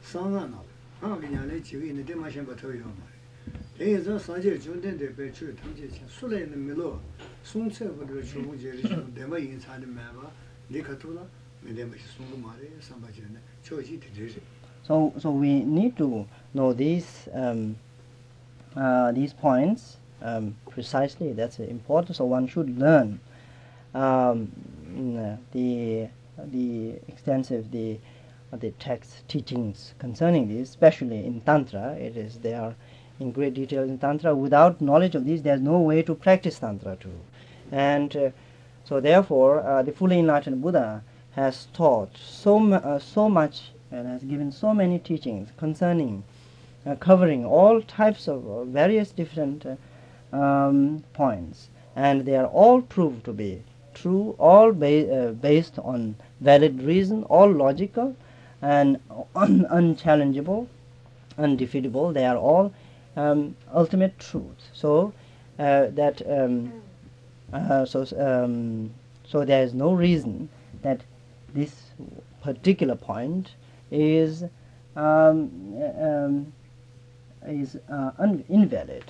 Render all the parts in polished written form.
상안나 하기냐래 지위는 대마신 버터요 대에서 사제 존된데 배출 통제 수레는 밀로 송체부터 주무제를 대마 인사는 매바 리카토라 매대마시 송도 말에 삼바지네 초지 되지 So we need to know these points precisely. That's important. So one should learn the extensive the text teachings concerning this, especially in Tantra. They are in great detail in Tantra. Without knowledge of this, there's no way to practice Tantra too. And so therefore, the fully enlightened Buddha has taught so much and has given so many teachings concerning covering all types of various different points, and they are all proved to be true, all based on valid reason, all logical and unchallengeable, undefeatable. They are all ultimate truth. So so there is no reason that this particular point is invalid.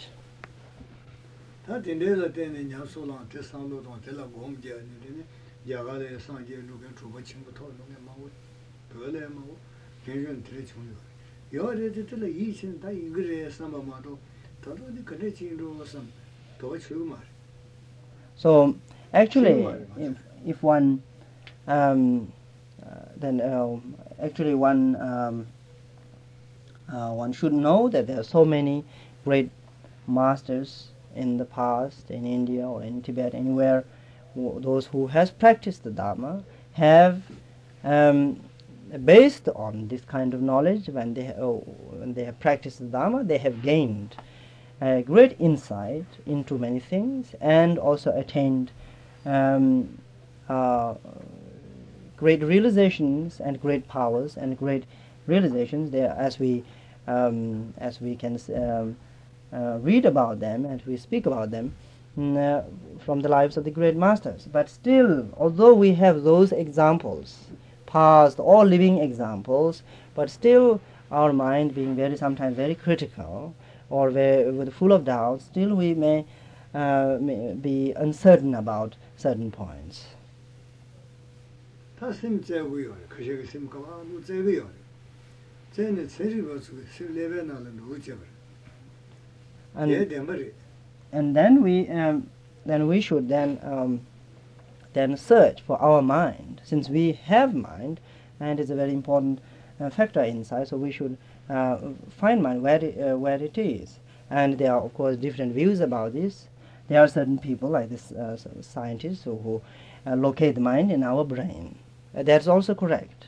So actually, if one actually one should know that there are so many great masters in the past in India or in Tibet, anywhere, those who has practiced the Dharma have based on this kind of knowledge, when they have practiced the Dharma, they have gained great insight into many things and also attained great realizations and great powers and great realizations there, as we can read about them and we speak about them from the lives of the great masters. But still, although we have those examples, past or living examples, but still our mind being sometimes very critical or full of doubt, still we may be uncertain about certain points. And then we should then search for our mind, since we have mind, and it's a very important factor inside. So we should find mind where it is. And there are, of course, different views about this. There are certain people, like this scientists, who locate the mind in our brain. That's also correct.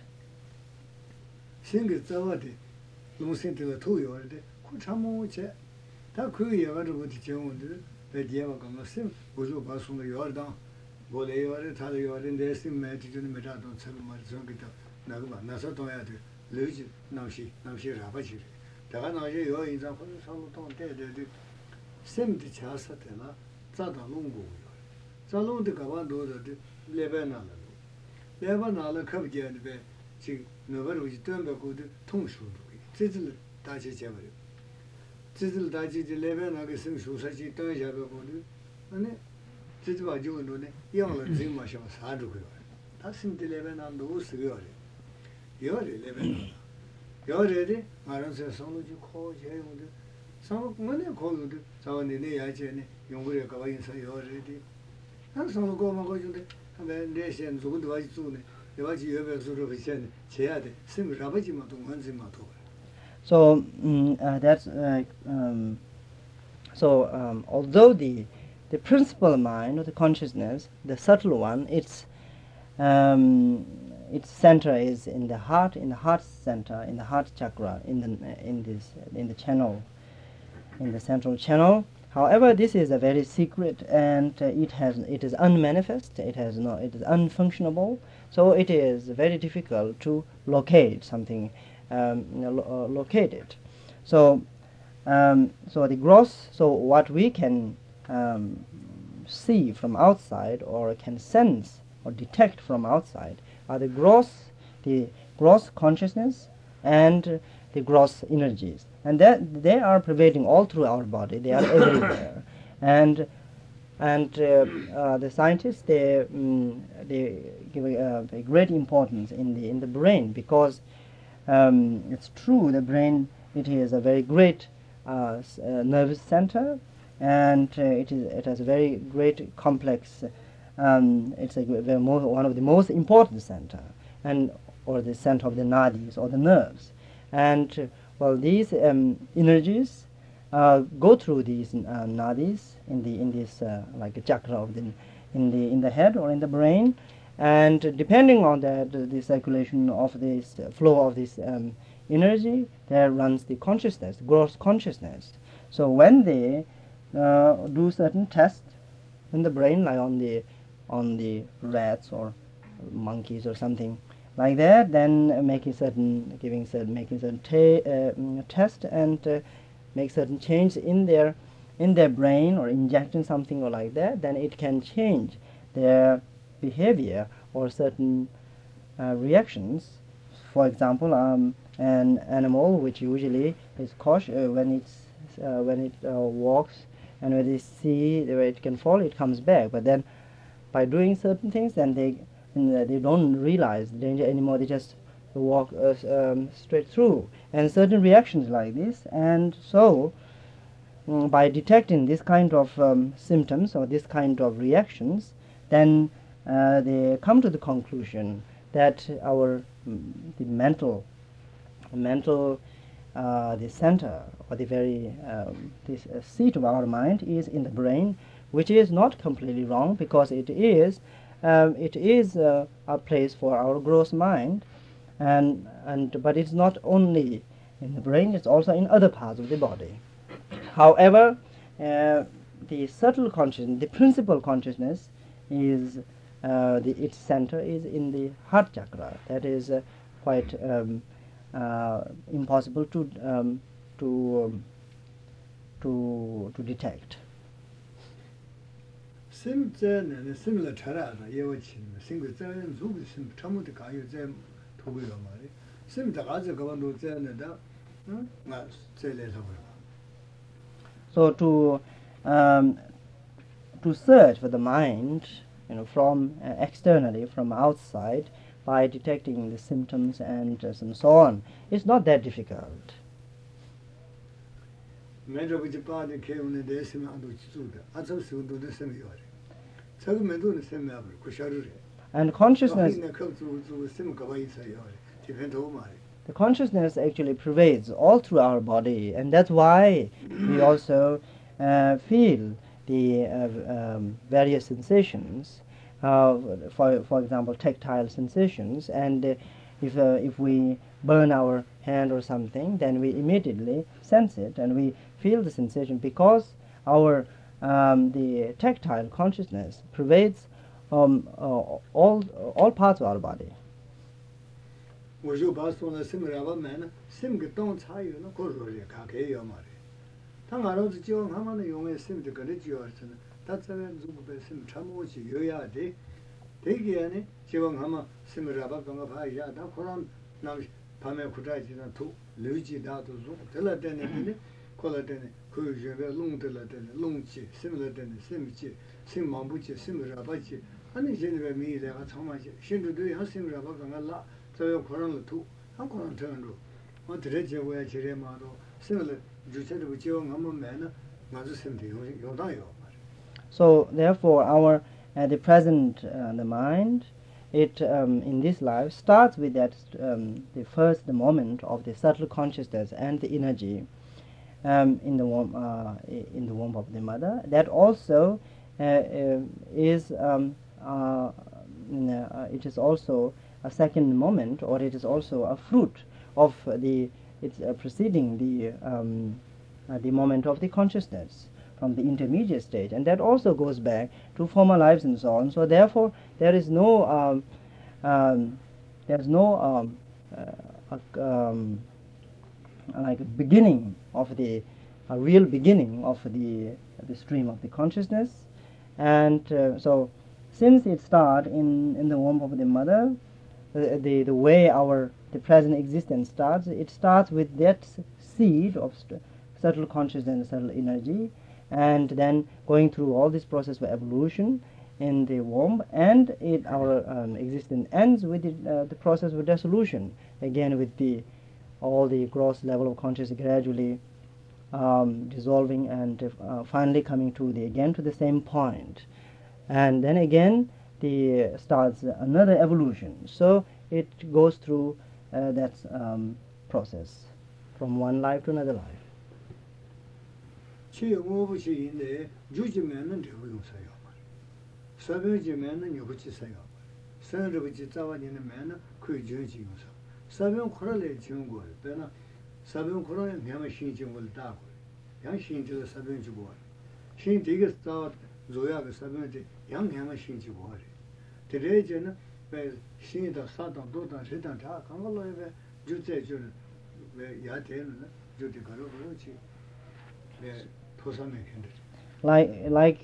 So although the principal mind or the consciousness, the subtle one, its center is in the heart center, in the heart chakra, in the channel, in the central channel. However, this is a very secret, and it is unmanifest. It is unfunctionable. So it is very difficult to locate something, locate it. So the gross. So what we can see from outside, or can sense or detect from outside, are the gross consciousness and the gross energies, and that they are pervading all through our body. They are everywhere, and the scientists they give a great importance in the brain, because it's true, the brain, it is a very great nervous center, and it has a very great complex. It's one of the most important center, and or the center of the nadis or the nerves, and well, these energies go through these nadis in this like a chakra of in the head or in the brain, and depending on the circulation of this flow of this energy, there runs the consciousness, gross consciousness. So when they do certain tests in the brain, like on the rats or monkeys or something like that, then making certain test and make certain change in their brain, or injecting something or like that, then it can change their behavior or certain reactions. For example, an animal which usually is cautious when it walks, and when they see where it can fall, it comes back. But then, by doing certain things, then they don't realize the danger anymore. They just walk straight through, and certain reactions like this. And so, by detecting this kind of symptoms or this kind of reactions, then they come to the conclusion that the mental the center, or the very this seat of our mind is in the brain, which is not completely wrong, because it is a place for our gross mind, but it's not only in the brain; it's also in other parts of the body. However, the subtle consciousness, the principal consciousness, is its center is in the heart chakra. That is quite impossible to detect. sim similar chara yewa chin single zan zu sim chamu de ga yu zan togu yo ma le sim da ga ze ga ban do zan da na ze le so. So to search for the mind, from externally, from outside, by detecting the symptoms and so on, it's not that difficult. Medro bi pa de ke un de sim ando chu da a zo su do de sim yo re cha ge men do ne sim ya ko sha ru re And consciousness, ne ko zu sim ga ba yi sa yo re ti pen do ma re. the consciousness actually pervades all through our body, and that's why we also feel the various sensations, for example, tactile sensations, and if we burn our hand or something, then we immediately sense it and we feel the sensation, because our the tactile consciousness pervades all parts of our body. 我就把说那sim ra ba me na sim ge dong cha yu na ko ro re ka ke yo ma re. Ta nga ro ji jo ha ma ne yong e sim de ge ne ji yo chen ta zhe wen zu bu be sim cha mo ji yo ya de de ge ne ji wang ha ma sim ra ba gong ba ya da ko ran na pa me ku zai ji na tu lu ji da du zu de la de ne ko la de ne ku yu je be long de la de ne long ji sim la de ne sim ji sim mang bu ji sim ra ba ji ani je ne be mi de ga chang ma ji xin du de ya sim ra ba gong la so koran tu han koran turn ro ma de je wo ya che re ma do similar ju che de ji wang ma me na ma zu sim de yo da yo. So therefore, our the present the mind, it in this life starts with that the moment of the subtle consciousness and the energy in the womb of the mother. That also is it is also a second moment, or it is also a fruit of it's preceding the moment of the consciousness from the intermediate stage, and that also goes back to former lives and so on. So therefore, there is no like a beginning of a real beginning of the stream of the consciousness, and so since it starts in the womb of the mother, the way the present existence starts, it starts with that seed of subtle consciousness and subtle energy, and then going through all this process of evolution in the womb, and our existence ends with the process of dissolution, again with all the gross level of consciousness gradually dissolving and finally coming to the same point, and then again starts another evolution. So it goes through that process from one life to another life. Like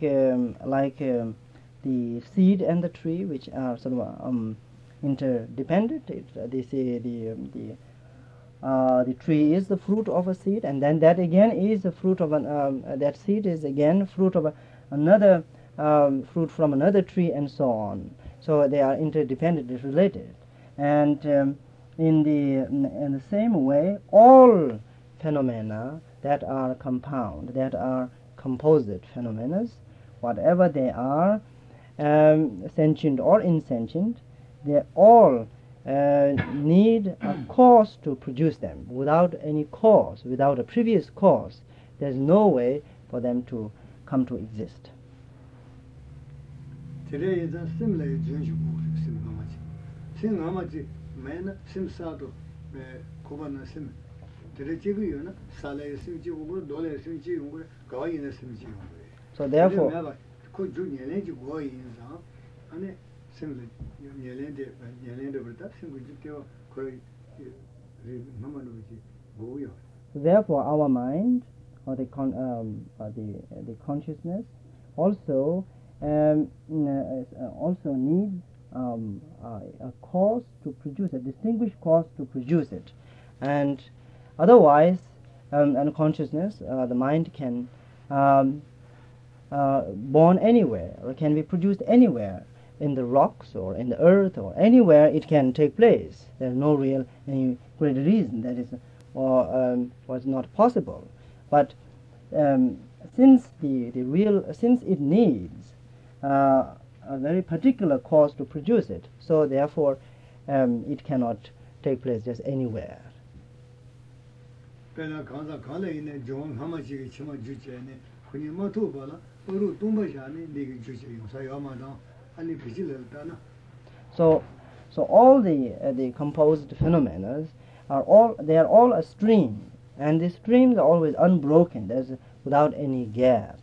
the seed and the tree, which are sort of interdependent. They say the tree is the fruit of a seed, and then that again is the fruit of that seed is again fruit of another fruit from another tree, and so on. So they are interdependently related, and in the same way, all phenomena that are compound, that are composite phenomena, whatever they are, sentient or insentient, they all need a cause to produce them. Without any cause, without a previous cause, there's no way for them to come to exist. Today is a similar sim hamachi man sim sado kubana sim tere sale sim dole sim sim so therefore ko ju nyele ji go yin sa ane sim nyele de berta sim ju teo ko mama no ji go yo. Therefore our mind or the consciousness also needs a cause to produce, a distinguished cause to produce it, and otherwise unconsciousness, the mind can born anywhere, or can be produced anywhere, in the rocks or in the earth or anywhere it can take place. There's no real any great reason that is was not possible, but since since it needs a very particular cause to produce it, so therefore it cannot take place just anywhere. So all the composed phenomena are all a stream, and the streams are always unbroken. There's without any gap.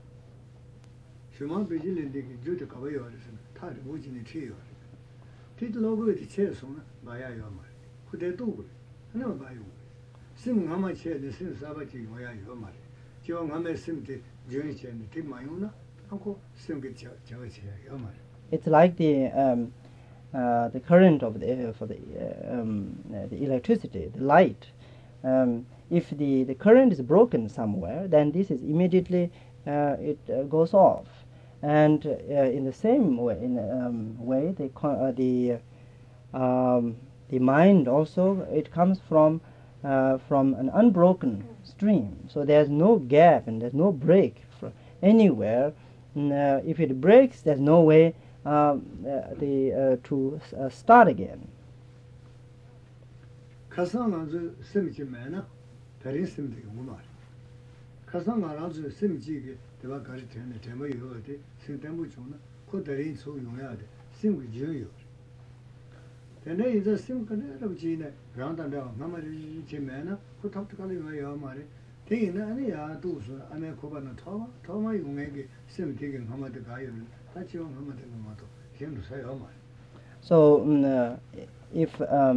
It's like the current of the electricity, the light. If the current is broken somewhere, then this is immediately it goes off. And in the same way, the mind also, it comes from an unbroken stream. So there's no gap and there's no break anywhere. If it breaks, there's no way to start again. So if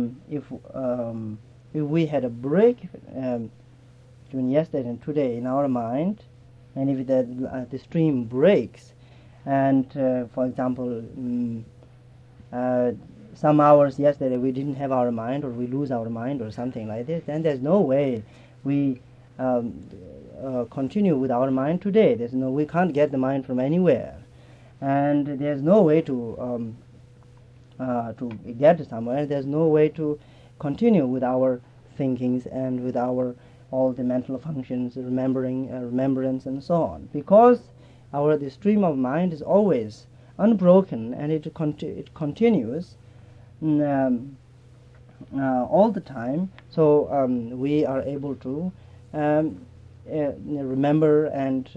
we had a break between yesterday and today in our mind, and if the stream breaks, and for example some hours yesterday we didn't have our mind, or we lose our mind or something like this, then there's no way we continue with our mind today. We can't get the mind from anywhere, and there's no way to get somewhere. There's no way to continue with our thinkings and with our all the mental functions, remembrance, and so on, because the stream of mind is always unbroken, and it continues all the time. So we are able to remember and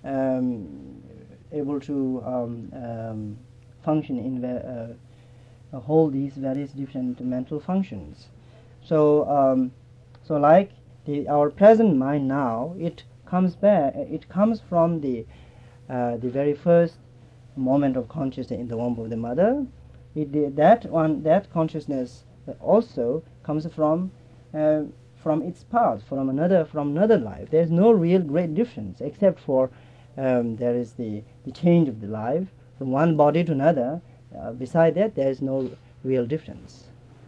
able to function in hold these various different mental functions. So so like our present mind now, it comes from the very first moment of consciousness in the womb of the mother. That consciousness also comes from its past, from another life. There's no real great difference, except for there is the change of the life from one body to another. Beside that, there is no real difference.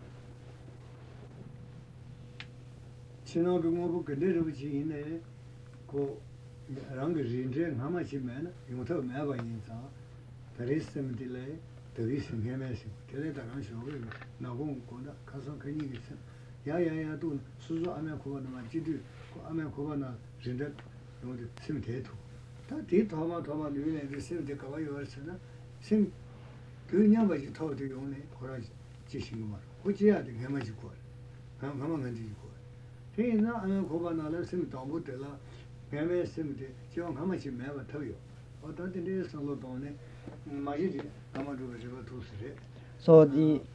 So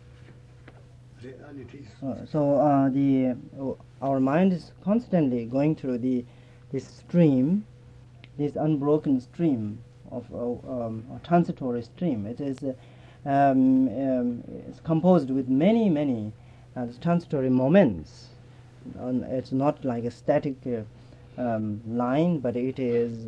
our mind is constantly going through this stream, this unbroken stream of a transitory stream. It is it's composed with many transitory moments. It's not like a static line, but it is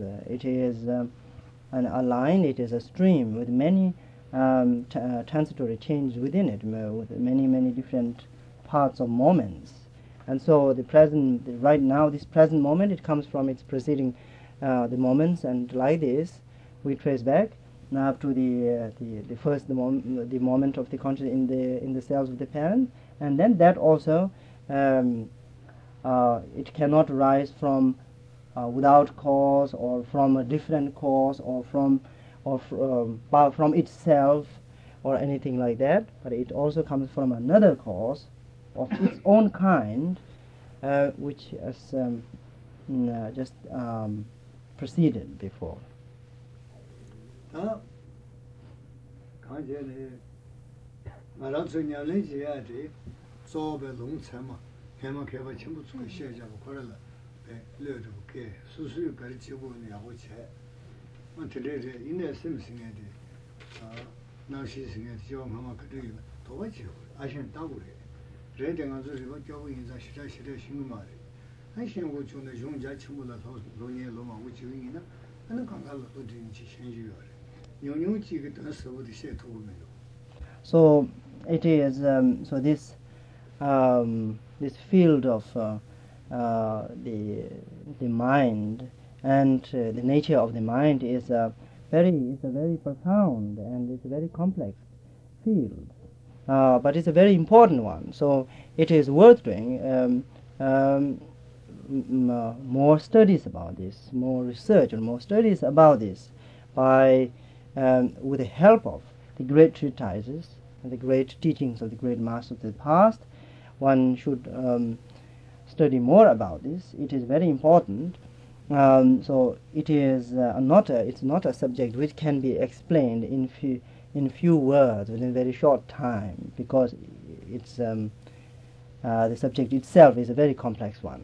a line. It is a stream with many transitory changes within it, with many different parts of moments. And so right now, this present moment, it comes from its preceding the moments, and like this, we trace back now up to the first the moment of the consciousness in the cells of the parent, and then that also it cannot rise from without cause, or from a different cause, or from itself, or anything like that, but it also comes from another cause of its own kind, which has just preceded before. So it is so this this field of the mind and the nature of the mind is a very profound, and it's a very complex field, but it's a very important one. So it is worth doing more studies about this, more research and more studies about this, by with the help of the great treatises and the great teachings of the great masters of the past. One should study more about this. It is very important. So it is it's not a subject which can be explained in few words within a very short time, because it's the subject itself is a very complex one.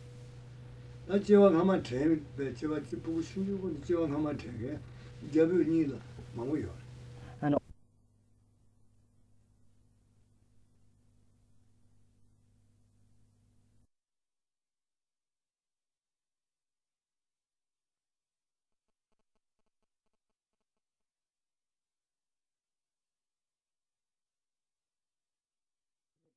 And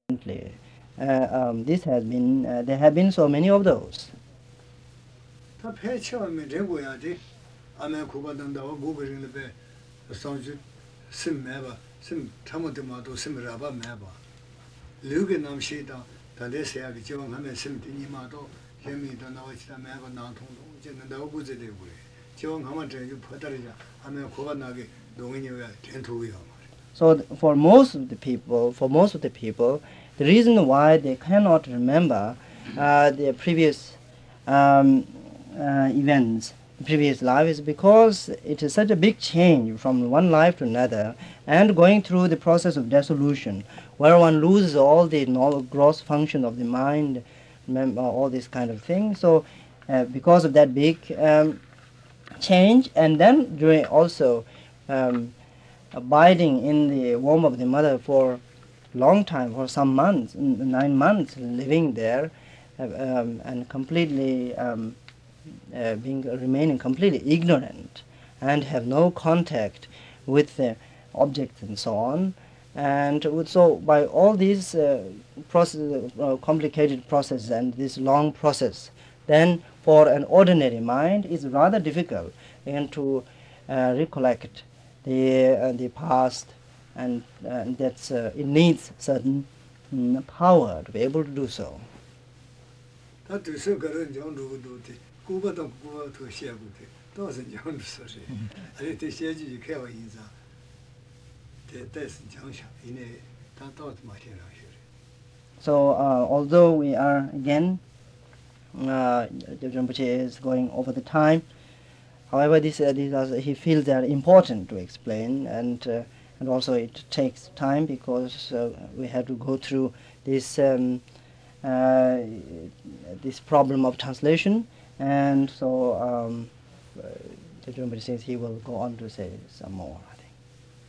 This has been there have been so many of those. 다 배치하면 되고야 돼. 아메 고바던다 고버링을 배 상주 심매바 심 참어도마도 심라바 매바. 류게 남시다 다데세야게 지원하면 심디니마도 재미도 나와지다 매바 나통도 이제는 나오고 되고요. 지원하면 저기 퍼다리자 아메 고바나게 동인이야 된토요. So for most of the people, the reason why they cannot remember their previous events, previous life, is because it is such a big change from one life to another, and going through the process of dissolution, where one loses all the gross function of the mind, all this kind of thing. So because of that big change, and then during also abiding in the womb of the mother for a long time, for some months, 9 months, living there, and completely remaining completely ignorant, and have no contact with the objects and so on. And so by all these complicated processes and this long process, then for an ordinary mind it's rather difficult and to recollect the past, and that's it needs certain power to be able to do so. So although we are again, Rinpoche is going over the time. However, these he feels they are important to explain, and also it takes time because we have to go through this this problem of translation, and so Rinpoche says he will go on to say some more, I think.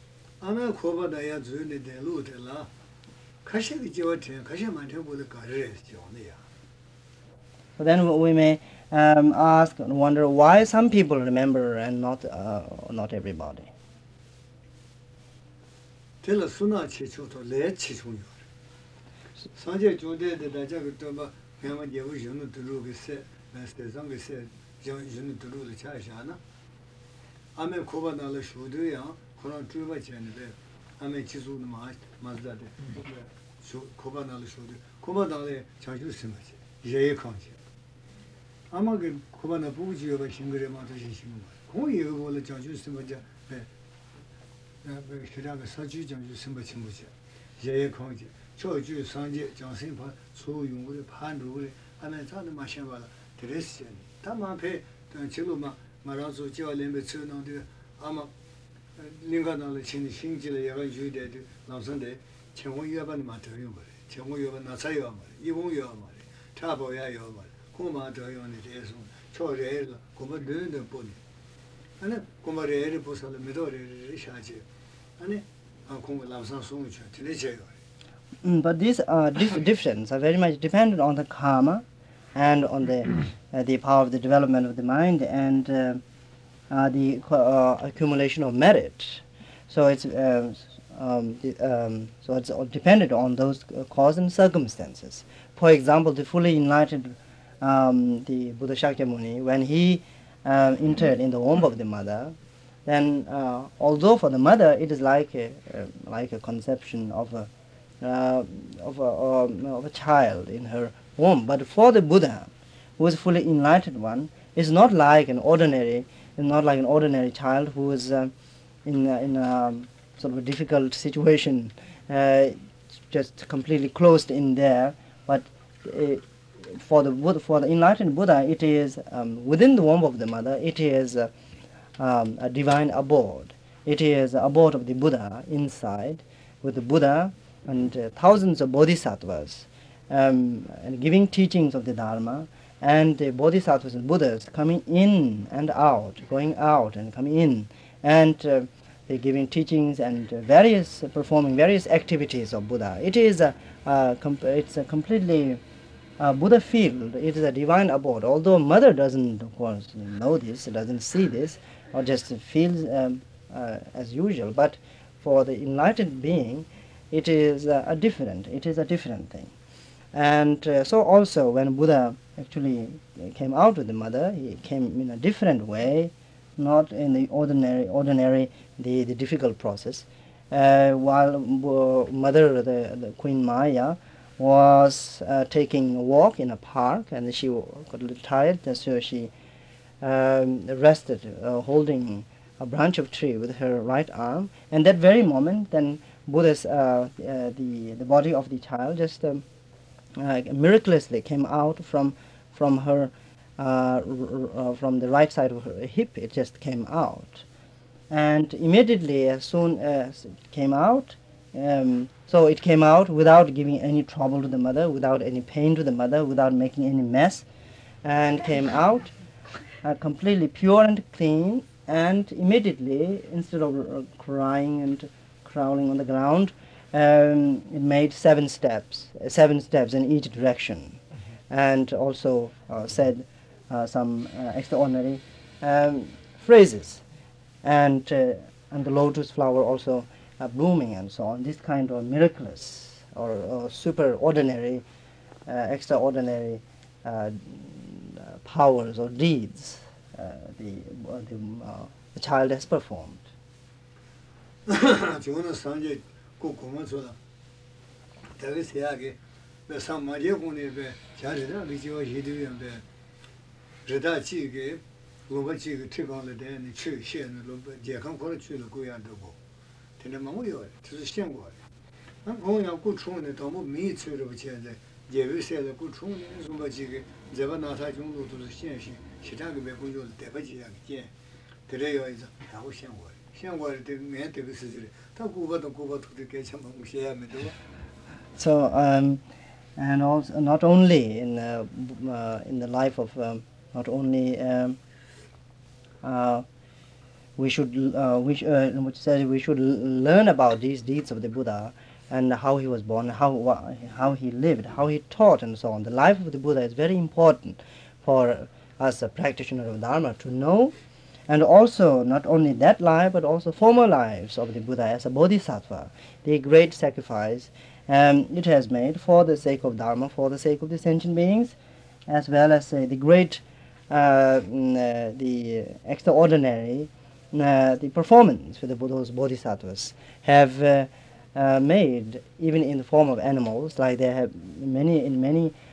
So then we may ask and wonder why some people remember and not everybody. 아마게 고바나 부지여가 싱그레 마도시 싱거 공이여 볼래 장주 심바자 네 그다음에 사주 장주 심바 침부지 예예 공지 저주 상제 장신파 소용으로 판루를 하면 자는 마셔봐 드레스 다만페 지금마 말아서 지와렘베 처는데 아마 링가나를 신지를 여러 주의되도 남선데 청원여반 마트요 말 청원여반 나사요 말 이봉여 말 차보야요 말 But these differences are very much dependent on the karma and on the power of the development of the mind and the accumulation of merit. So it's so it's all dependent on those cause and circumstances. For example, the fully enlightened the Buddha Shakyamuni, when he entered in the womb of the mother, then although for the mother it is like a conception of a child in her womb, but for the Buddha, who is fully enlightened one, is not like an ordinary child who is in a sort of a difficult situation, just completely closed in there, but for the enlightened Buddha, it is within the womb of the mother. It is a divine abode. It is the abode of the Buddha inside, with the Buddha and thousands of bodhisattvas, and giving teachings of the Dharma, and the bodhisattvas and Buddhas coming in and out, going out and coming in, and they're giving teachings and performing various activities of Buddha. It is it's a completely Buddha field. It is a divine abode. Although mother doesn't, of course, know this, doesn't see this, or just feels as usual, but for the enlightened being, it is a different thing. And so also when Buddha actually came out with the mother, he came in a different way, not in the ordinary the difficult process. While mother, the Queen Maya, was taking a walk in a park, and she got a little tired, and so she rested, holding a branch of tree with her right arm. And that very moment, then Buddha's the body of the child just miraculously came out from her from the right side of her hip. It just came out, and immediately as soon as it came out, so it came out without giving any trouble to the mother, without any pain to the mother, without making any mess, and came out completely pure and clean. And immediately, instead of crying and crawling on the ground, it made 7 steps in each direction, and also said some extraordinary phrases, and the lotus flower also blooming and so on. This kind of miraculous or super ordinary, extraordinary powers or deeds the child has performed. 저는 산제 꼭 고마워서 대개 세하게 상마제 공부에 잘해라 리지와 히드위한데 레다치게 로바치게 특강을 대는 최신의 로바 제강 거를 줄을 고야되고 되는 마음이요. 그래서 시험 거예요. 공양 고충의 너무 미치로 붙여야 예외세의 고충의 로바치게 제가 나타 정도도 현실 시장의 매고를 대바지하게 그래요. 이제 하고 시험 거예요. So and also not only in the life of not only we should learn about these deeds of the Buddha and how he was born, how he lived, how he taught, and so on. The life of the Buddha is very important for us, a practitioner of Dharma, to know. And also, not only that life, but also former lives of the Buddha as a bodhisattva, the great sacrifice it has made for the sake of Dharma, for the sake of the sentient beings, as well as the great, the extraordinary, the performance for the Buddha's bodhisattvas have made, even in the form of animals, like they have in many